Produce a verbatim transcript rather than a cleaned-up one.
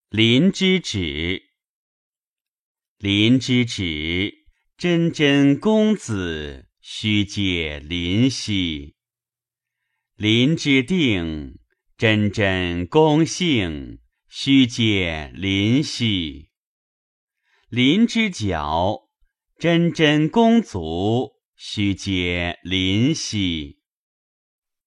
林之止。林之止，真真公子，须借林兮。林之定，真真公性，须借林兮。林之角，真真公足，须借林兮。